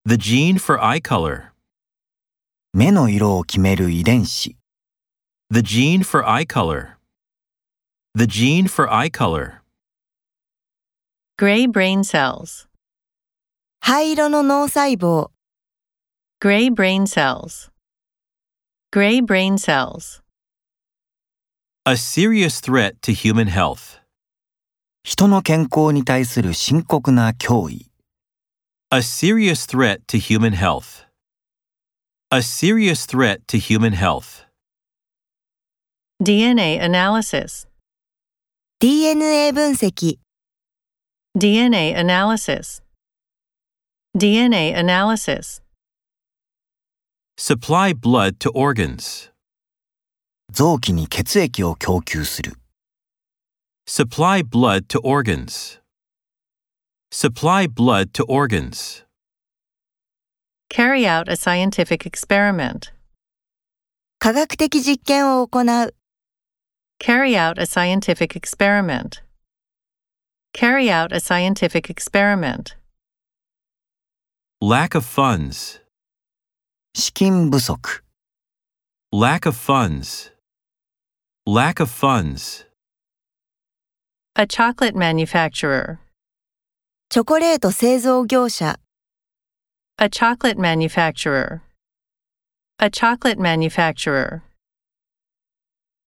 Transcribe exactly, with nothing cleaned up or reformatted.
The gene for eye color. 目の色を決める遺伝子。 The gene for eye color. The gene for eye color. Gray brain cells. 灰色の脳細胞。 Gray brain cells. Gray brain cells. A serious threat to human health. 人の健康に対する深刻な脅威。 A serious threat to human health. A serious threat to human health. D N A analysis. ディーエヌエー 分析。 D N A analysis. D N A analysis. Supply blood to organs. 臓器に血液を供給する。 Supply blood to organs. Supply blood to organs. Carry out a scientific experiment. 科学的実験を行う。 Carry out a scientific experiment. Carry out a scientific experiment. Lack of funds. 資金不足。 Lack of funds. Lack of funds. A chocolate manufacturer. チョコレート製造業者。 A chocolate manufacturer. A chocolate manufacturer.